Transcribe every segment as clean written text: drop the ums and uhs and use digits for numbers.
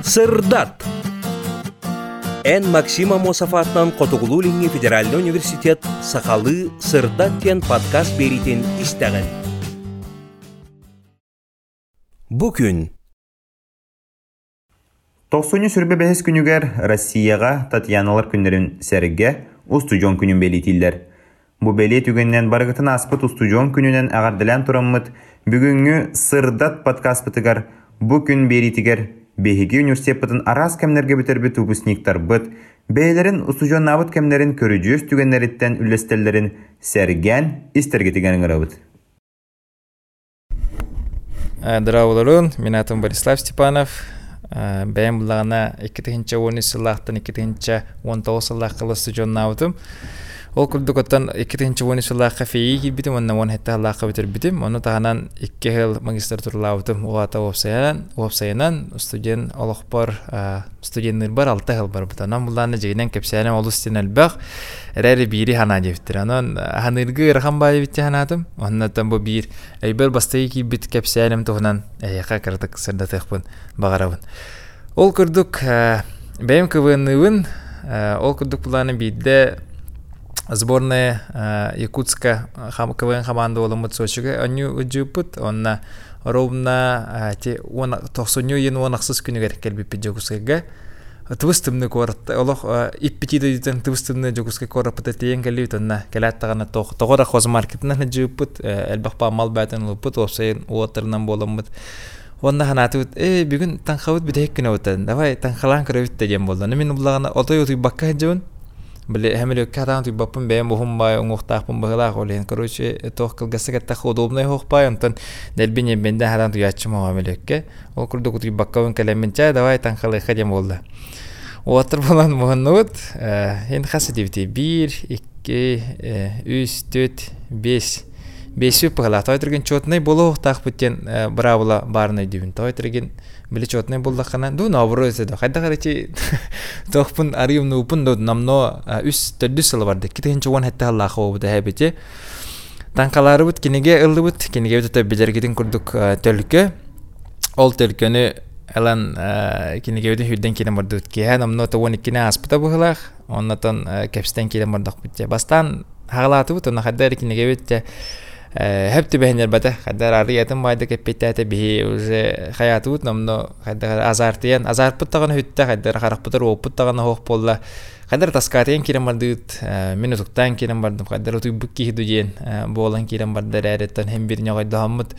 Сырдат. Эн Максима Мосафатнан Котугулулинги Федеральный университет Сахалы Сырдат кен подкаст беритин истеген. Бүгүн 90 сүрбе бәхес күнігер Россияға Татьяналар күндерін сәріге устужон күнін белетілдер. Бу белет үгеннен барғытын аспыт устужон күнінен ағардылан тұраммыт бүгінгі Сырдат подкаст бітігер бұ күн беритігер Бехиги университеттің арас кәмнерге бітербі тубусниктар бұд, бәйлерін устужон набыт кәмнерін көріджөз түгенлеріттен үлестелерін сәрген істергетігенің ұрабыд. Здравствуйте, меня зовут Борислав Степанов. Бәйім бұлағына 2010 сылақтан 2019 сылаққылы студион науытым. Ол күрдік оттан 2010 сылаққа фейі келбетім, онна 10 хетті алаққа бітір бітім. Оны тағанан 2 жыл магистратура ауытым. Оғата опсайынан студент олық бар, студенттер бар, 6 жыл бар бұд. Онан бұлағына жегінен кәпсәлім олы стен әлбәқ, әрі бейірі хана жевттір. Онан ханырғы ұрған бай бітті ханатым. Оннаттан бұл бейір әйбір бастайы кейбіт кәпсәлім тұғынан әйеқа кірдік сырдатықпын бағарабын. Ол күрдік бәйім көвінуын, ол күрдік бұлағына бейді сборная Якутска КВН команда оламыт Сочиге аню уджупут онна ровна те 90 ен онақсыз күнігер келбеппе Якутскага твыстымны корт олох иппетиден твыстымны Якутска корапыта тейен келбет онна келаттагана тогора хоз маркетинен жупут элбахпа мал батын лупут опсайын уоттарынан боламыт онна ханатыт бүгүн таңхабыт бидек күнө өтөн давай таңхалан кырыбыт деген болду мен булагана отой отой бакка жон Бли хэмилүү катаан түй баппын бэйм бухум бай уңуқтақпын бағылақ олейін. Короче, тоқ кылгасы кәттақ удобный хоқпай, онтан дәлбен ембенде хатаан түй ачым оға мелөкке. Ол күрді күтүй баққауын кәлемін чай, давай таңқалы қадем болды. Оғатыр болан мұғынуыт, енді қасы дебіте 1, 2, 3, 4, 5. 5 өпіғыла. Тойтырген чотынай болу оқтақ бүттен бұрабыла барынай дүйін. Тойтырген Били чотный булдакана ду наоборот эседе. Кайда карачи тохпун ариум нупун до намно үс төдүсөл барды. Китенче он хетте Аллах обуда хабите. Танкалары бут кинеге ылдыбыт. Кинеге өтө билергидин курдук төлкө. Ол төлкөнү алан кинеге өтө хүдден кине барды. Ке намно то 12 аспыта бугылах. Оннотон кепстен кине бардак битте. Бастан хагалаты бут. Онна хаддар кинеге өтө Хепти бэхнер бата хаддар арыятын байды кеппеттәті бихи уже хаятуут намно хаддар азартыян азарпыттағаны хүтті хаддар харақпытыр опыттағаны хоқ болла хаддар таскатыян керен бардыгыт минутуктан керен бардым хаддар отуй бүк кейді дейін болан керен бардар әреттен хем біріне қойды хаммыт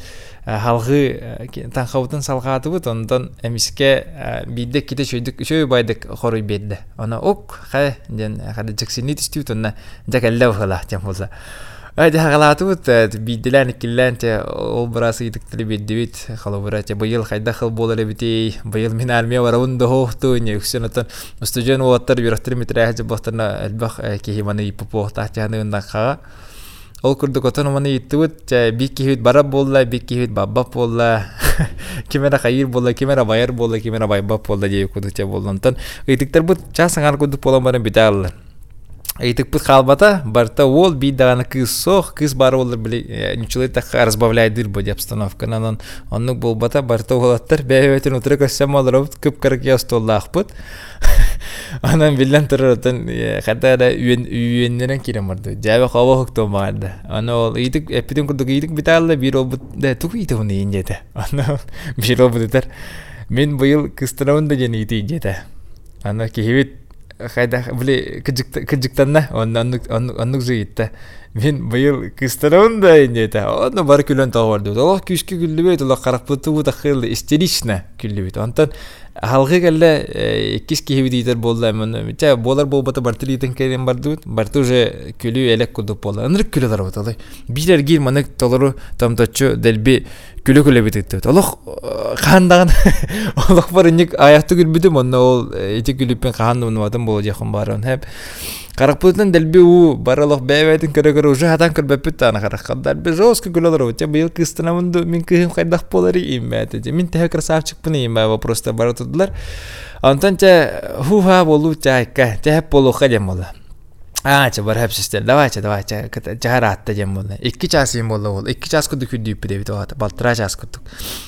халғы таңқаутын салғаты бұд ондан әміске бейдек кете шөй байдық қорой берді она оқ қай ден хаддар жаксинни түстіут онна жак әлі ұғылақ тем болса Айда хагалатут бидилан килланте ол брасы итектли биддивит халобрате быйыл хайда хыл болары бити быйыл мен армия барауында хоохту не үксөнөтөн студент уаттар бирактыр метрахе бохтана албах кихиманы иппо тахтяны ха ол курдук отон маны иттут бик кихит бара болла бик кихит бабба болла кимера хайыр болла кимера байыр болла кимера байба болла дей кудуча болдонтон итектер бут часаңар кудуп боламарын битал Айтык пыт халбата, барта ол бидағаны кыз соқ, кыз бары олар білі, нючылай таққа разбавляйдыр бөді обстановканан. Оннық бол бата, барта олаттар, бәйбәйтін ұтыры көссем олар өт, көп қарықия ұстолды ақпыт. Анан білден тұрыр өтін, қата да үйеннерін керем барды. Жабы қауы құқтың бағарды. Аны ол, әппетін күрдік үйдік біталды, бір ол бұд, түк үйді оны ең жеді. Аны бір ол бұдытар. Мен бұйыл кыстырауын да жені үйді ең жеді. Аны кейбет Хайда били кыжыктанна оннук жыйытта мен быйыл кыстырауында инде оны бар күлөн тагарды ол күшкү күлүбөйт ол каракпытуу такыл истерично күлүбөйт онтон халгы келе кис кийбидер болду мен ча болар болбата бартылитен керен барды барты уже күлү элек кудуп болду ынырык күлөлөр болду билер гир манык толору тамточу делби күлө битет олох кандаган олох бар ник аякты күлбүдүм онно ол эти күлүппен кандым атым болду жакын барын хеп Каракпутан дельби у баралох бэвэтин кэрэгэр уже хатан кэрбэппит ана караккалдар би жестко гулалар вот я бил кыстынамынды мен кыхым кайдах полари иммэти мен тэхэ красавчикпын иммэ просто баратыдылар антан те хуха болу чайка тэхэ полу хадем бола ча бар хепсистер давай ча жаратта жем бола 2 час им болу 2 час куду күдүп дебит балтыра час куттук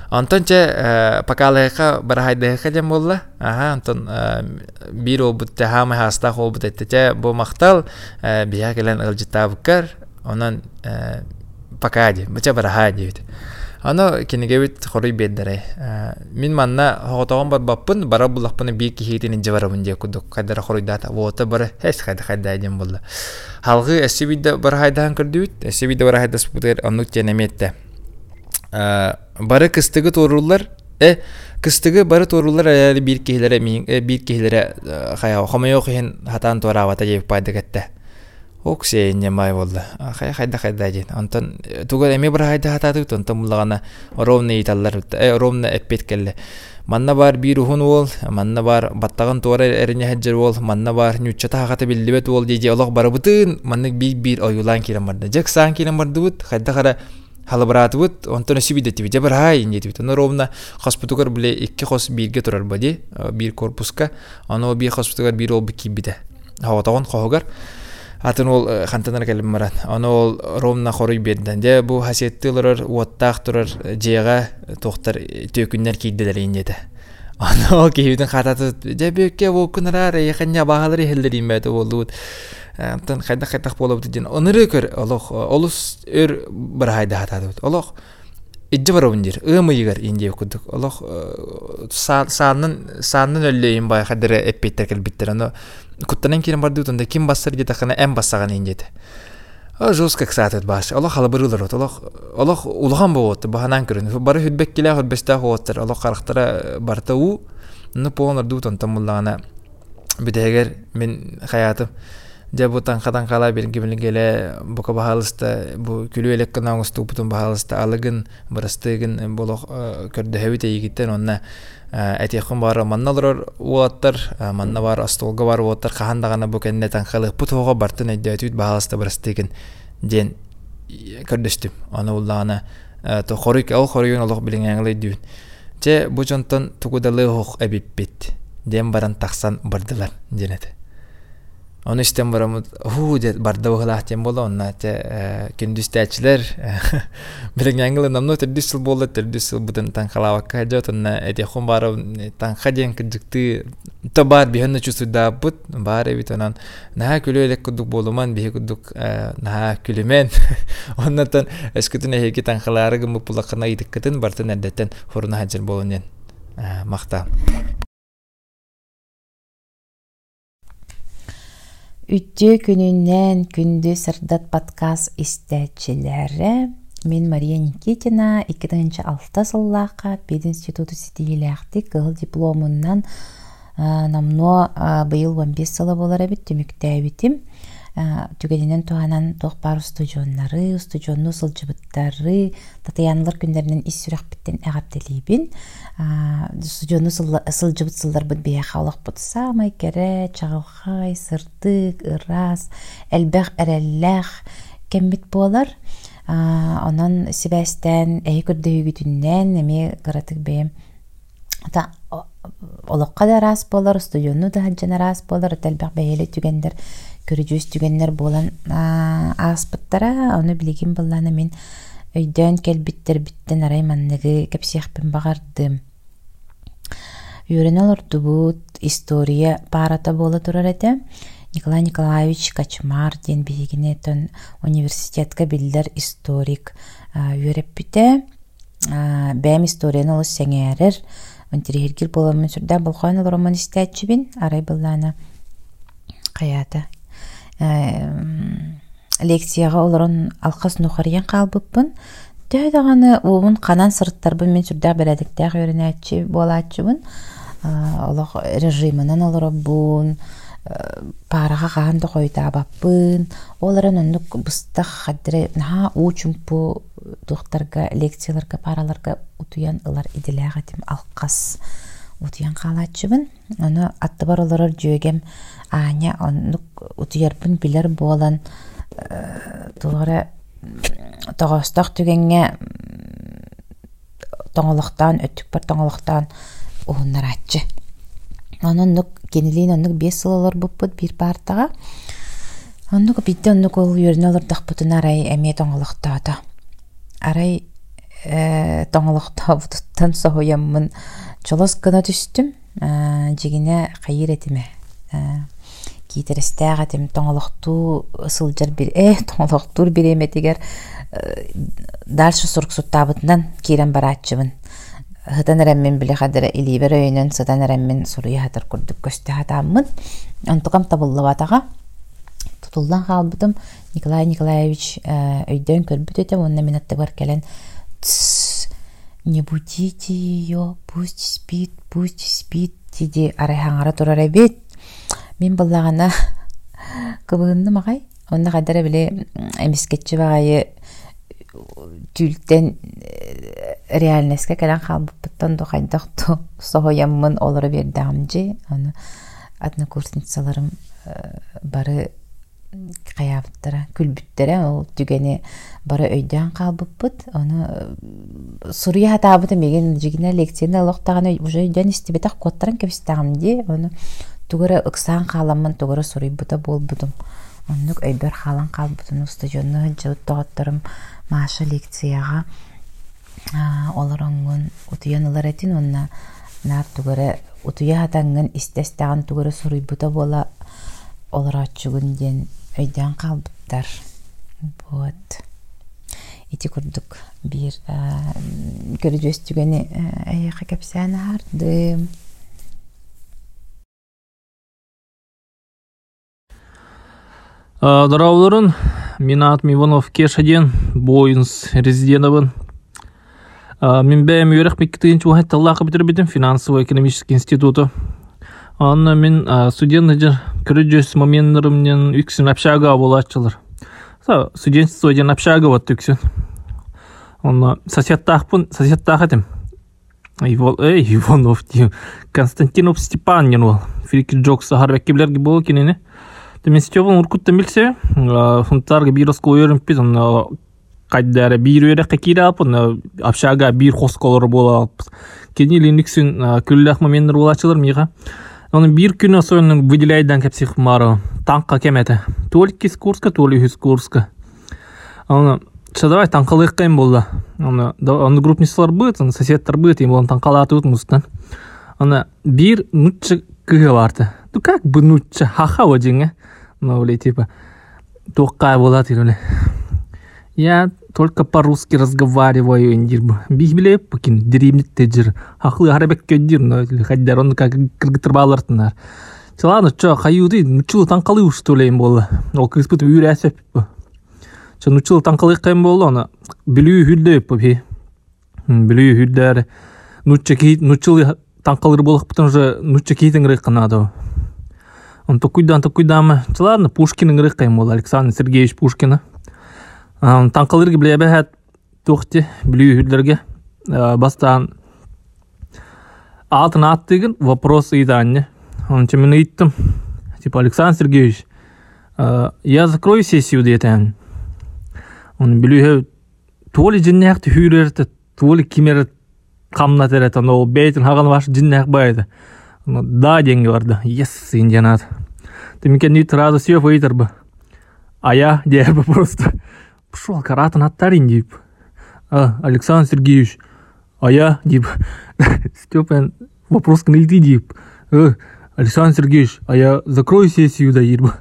Антон че покалыха барахайдыха дем болла. Антон бир обут хама хаста обут этте бу мактал бия келен ылжытабыккар онан покади бача барахайди. Аны кинегебит хорой беддере. Мин манна хоготогон бар баппын бара буллакпын бир кихитин жабарабын же кудук кадара хорой дата вота бар хес кайда дем болла. Халгы эсибидде барахайдан кырдыбыт. Эсибидде барахайдас бутер анук тенеметте. Бары кыстыгы торулар кыстыгы бары торулар әле бир кеһләре хая хомайо хен хатан торавата жеп пайда кетте. Оксе немай болду. Хайда ден. Антон тугал эме бир хайда хататы тонтон мулагана ровный италлар ровно эппет келле. Манна бар бир ухун бол, манна бар баттаган тора эрене хаҗыр бол, манна бар нючата хата билдибет бол диже Аллах бары бутын, манны бир оюлан килем барды. Жаксан килем барды бут, хайда кара халабрат бут, онтон сибидет тиби жабар хай инде тиби. Аны ровно хоспитугар биле 2 хос бирге турар бади, бир корпуска, аны бир хоспитугар бир ол бикибиде. Хаватаган когар атын ол хантанар келем марат. Аны ол ровно хорый бедден. Же бу хасиеттилер уаттак турар жега токтор төкүннөр кийделер индеде. Аны кийдин хататы же бекке бу күнара якынга багалары хелдерим бете болду. Антан хайда болуп дидин. Оныры көр Аллах олус өр бир хайда хатады. Аллах иджи барабындыр. Ымыйгар инде кудук. Аллах санын өллөйүн бай хадыра эппеттер келбиттер. Аны куттанан кирен барды утунда ким бассыр же такана эм бассаган индеде. Жостка ксатет баш. Аллах халабырылар. Аллах улган болот. Баханан көрүн. Бары хүдбек келе хүдбеста хоттер. Аллах карактара барта у. Ну понор дутон тамуллана. Бидегер мен хаятым жабутан хадан кала белгиле бука бахалыста бу күлүелек канаңысту бутун бахалыста алыгын барастыгын болох көрдө хевите егиттен онна этехун бар манналар уаттар манна бар астолга бар уаттар кахандагана бу кеннетан калы путога бартын эдетүт бахалыста барастыгын ден көрдөстүм аны уллана то хорик ал хоригон Аллах билиңеңле дүйүн же бу жонтон тугудалы хок эбиппит дем баран таксан бардылар денете. Onu istem baramut de barda baglahtем боло онна те күндүстәчләр билен яңгылы намно тердисел болду тердисел бутын танхалавакка жотонна эте хом барып танхаден кыдыкты табар бихенне чусуда бут баре битонан на күлөлек кудук болуман бихе кудук на күлемен оннан эскетине хеки танхалары гым пулакына идиккетин бартын эдеттен хорна хаҗыр болонен макта. Үтте күнүнен күндү сырдат подкаст истечилери. Мен Мария Никитина 2006 жыллака пединституту ситилиякти кыл дипломунан намно быйыл 15 жылы болар бит түмүктөбүтүм. Түгенинен туанан тохпар студионнары, студионну сылжыбыттары, татыянлар күндеринен ис сүрөкбиттен агартелибин. Студионну сылжыбыт сылдар бит бияка олак бутса, майкере, чагылхай, сырдык, ырас, элбэх, эреллэх кембит болар. Онан сибэстен эйи көрдөйгүтүннен эми кыратык бейм. Та олакка да рас болар, студионну да хаджана рас болар, элбэх бейеле түгендер көрүжүс түгеннер болан аспыттара, оны билигин болланы мен өйдөн келбиттер биттен арайманныгы кепсияхпен багардым. Үйренел ордубут история парата бола турар эте. Николай Николаевич Качмар ден билигинетон университетка билдер историк үйреппите. Бәм историяны олыс сәңәрер. Онтирихиргир боламын сүрдә болған роман истәтчібін. Арай болланы қаята. Лекцияға оларын алқас нухариян қалбыппын. Тәйдағаны уымын қанан сырттарбын мен сүрдә бәләдіктәғ өрінәтші болатшыбын. Олық режимынан оларабын, параға қағанды қойда баппын. Оларын онлық бұстақ қадыры наға учымпы тұқтарға, лекцияларға, параларға ұтуян ұлар иделәға дем алқас ұтуян қалатшыбын. Оны атты бар оларар жүйегем аня онлық ұтуярбын білер болан тұлғары тоғыстақ түгенге тоңылықтан, өттік бар тоңылықтан оғынлар атчы. Онлық кенелейін онлық 5 сылалар бұппыд бір партаға. Онлық бітті онлық ол үйерін олар дақпытын арай әме тоңылықтады. Арай тоңолохтобутуттан соһуяммын чолос гына түстүм жигине хайыр этиме китерестээҕэтим тоңолохтуу ысылдьар тоңолохтуур биреметигер дальше суруксуттаабытынан киирен барааччыбын хытан эрэммин билихадыра илибер өйүнөн сытан эрэммин суруйахатар курдук көстөхатааммын онтукам табыллабатага тутулдан хаалбытым Николай Николаевич өйдөн көрбүт этем онна минаттагар келен не будите ее, пусть спит диди арайхаңара турар эбит мен баллагана кыбыынны магай онна кадара биле эмискетчи багайы түлтен реальностька келен халбыттан дохайдакту соһояммын олары бердамжы аны однокурсницаларым бары каябыттара күлбүттере ол түгени бары өйдөн калбыппыт аны суруя хатабыты меген жигине лекцияны локтаганы уже өйдөн истибетак коттаран кебистагамди аны тугара ыксан каламын тугара суруйбута болбудум оннук өйбөр халан калбытын стадионны жыттагаттарым маша лекцияга олороңун утуянылар этин онна нар тугара утуя хатаңын истестаган тугара суруйбута бола олорачугун ден өйдөн калбыттар вот ити курдук бир көрүжөстүгени аяка кепсаны арды Здравларын, мен атым Иванов Кешаден, Бойнс резидентовын. Мен бәйім өрек мектебинчи уақытта Аллахы бітірбедім финансово-экономический институты. Анна мен студенттер көрүжөс моменттеримден үксүн общага болачылар. Студентство ден общага вот үксүн. Анна соседтахпын Иванов дим Константинов Степанин ол. Фрики Джокс харбеккеблерге болу кенене. Мен Степан уркуттан билсе, фунтарга бир оскол өрүмппит, кайдары бир өрек кекире алып, общага бир хосколор боло алып. Кенелин үксүн күллах моменттер болачылар мига. Onun bir gün sonra выделяйдан кепсих мара танка кемете. Только из Курска, то ли из Курска. Onu çadavay tankalık kayın bolda. Onu grupnisalar bıt, onu соседтар bıt, им танкалаты utmuştan. Ona bir nutça kığı vardı. Du как бы nutça haha вожинге. Ну, öyle типа тоқай болады öyle. Я только по-русски разговариваю, индирбу. Бихбиле покин деревнит тежир. Хахлы арабек көддир, но хаддар он как кыргытыр балартынар. Ладно, чё, хаюды, нучул танкалы уж что ли им было. Ол кыспыт үйрәсеп. Чё, нучул танкалы кайым болды, она билүү хүлдө попи. Билүү хүлдөр. Нучул танкалыр болох потом же нуча кейтен рыканады. Он токуйдан. Ладно, Пушкин рыкайым болды, Александр Сергеевич Пушкина. Танкалырга билебе тоқти билүү хүлдөргө бастан атын аттыгын вопрос ыйданне. Он мен айттым, типа Александр Сергеевич, я закрою сессию детен. Он билүү то ли жиннакты хүрерти, то ли кимер камнат эрет, но бейтин хаган баш жиннак байды. Да деньги барды. Yes, индианат. Ты мекен не сразу все выйдербы. А я дебы просто пошел каратын аттарин деп. Александр Сергеевич, а я деп. Степан вопрос к нейти деп. Александр Сергеевич, а я закрою сессию да деп.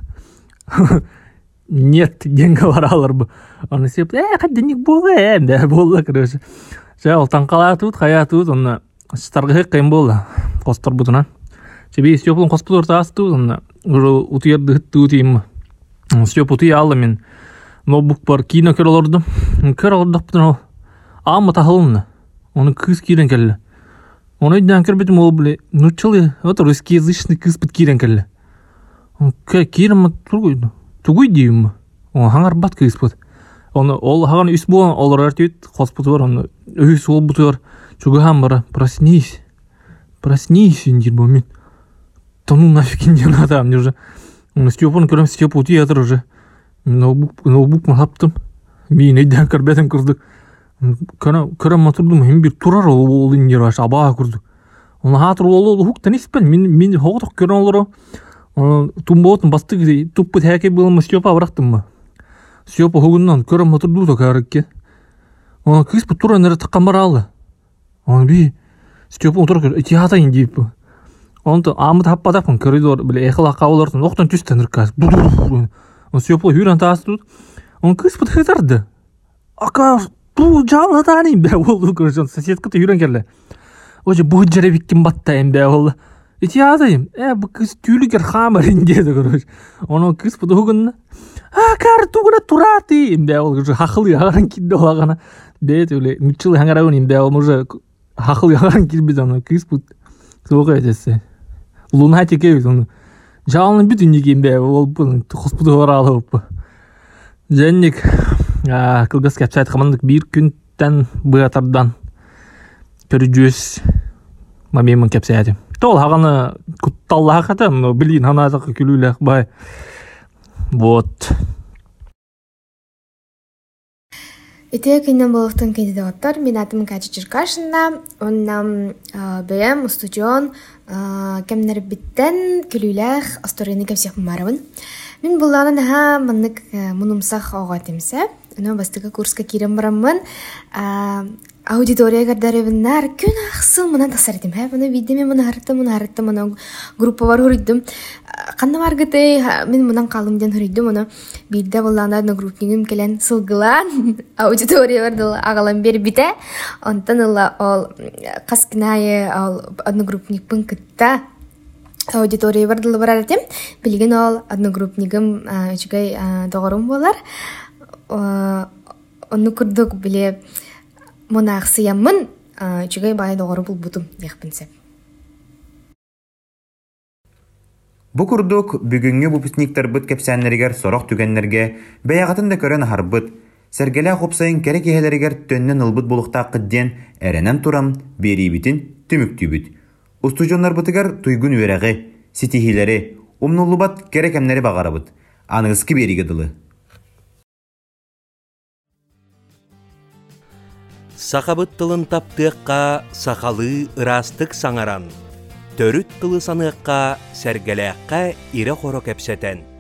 Нет, деньги варалар бы. Он сеп, как денег было, да было, короче. Жал танкала тут, хая тут, он старгы кайм было. Костор бутунан. Тебе Степан коспор тас тут, он уже утырды тут им. Степ уты алла мен. Ноутбук бар кино көрөлөрдүм. Көрөлөрдүк бүтүн ама тахылны. Оны кыз кирен келди. Оны дан көрбөтүм ол биле. Нучулы, вот русскоязычный кыз бит кирен келди. Он кирем тургуйду. Тугуй дейм. Он хаңар бат кыз бит. Оны ол хаган үс болгон олар артыт хоспут бар. Оны өйс ол бутур. Чугам бара. Проснись. Проснись, индир момент. Да ну нафиг не надо мне уже. Он Степан көрөм Степ ути ятыр уже. Ноутбук махаптым. Мен эден көрбетим кырдык. Көрөм матурдум, hem bir турар ол индир баш аба кырдык. Оны хатыр ол хуктан испен. Мен хогдук көрөн олору. Тумботун бастык туппут хаке болмос Степа барактым. Степа хугундан көрөм матурду да карыкке. Оны кыз бу тура нere тыккан баралы. Оны би Степан отуруп итиятайын дейп. Онто амы таппадапын коридор биле эхла кабылыртын октон түстен ыркас. Он Степан хүрен таастут. Он кыз бу тыдарды. Ака бу жалатани бе болду көрсөң соседка хүрен келе. Оже бу жеребиккин баттайын бе болду. Итиятайым. Бу кыз түлүгер хамарин деді көрөж. Оны кыз бу дугун. Кар тугуна турати бе болду. Хакыл яган кидде олагана. Бет өле мүчүл хаңарабын бе уже хакыл яган кирбиз аны кыз бу соога этесе. Лунатик оны. Жалын бүт үнеге бе ол бу хоспуду баралып. Женник кылгас кепсайт камандык бир күндөн быатардан көрүжүс мамемин кепсайты. Тол хаганы кутталла хата, но билин ханазак күлүлөк бай. Вот. Ите кинен болуктун кандидаттар мен атым Катя Черкашина, оннам БМ студион кемнер биттен күлүлөк асторыны кепсек марабын. Мен булланы ха мынык мунумсах огатымса, но бастыга курска кирем барамын. Аудитория гардарыбыннар күн аксыл мынан тасардым. Буну видеме муну харыттым, муну группа бар хүрдүм. Кандай баргыты мен мунан калымдан хүрдүм, муну бирде булланар группнигим келен сылгылан аудитория бардыл агалам бер бите. Онтан ол каскынайы ол одногруппник пунктта аудитория бардыл баратым. Билген ол одногруппнигим үчүгай догорум болар. Онну курдук биле монахсыямын үчүгай бай догору булбутум яхпынсеп. Бу курдук бүгүнгү выпускниктар быт кепсәннәргәр сорак түгәннәргә бәягатын да көрән харбыт. Сәргәлә хопсайын кәрәк иһәләргә төннән ылбыт булыкта кыдден әрәнән турам берибитин түмүктүбүт. Устужоннар бытыгар туйгун үрәгы, ситихиләре, умнулубат кәрәкәмнәре багарабыт. Аныгызкы бериге дылы. Сақабыт тылын таптыққа сақалы ырастық саңаран. Төрүт тылы саныққа сәргеләққа ире хоро кәпсәтен.